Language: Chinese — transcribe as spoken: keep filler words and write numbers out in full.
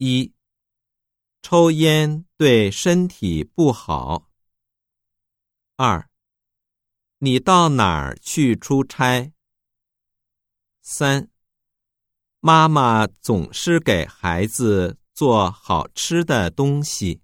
一、抽烟对身体不好。二、你到哪儿去出差？三、妈妈总是给孩子做好吃的东西。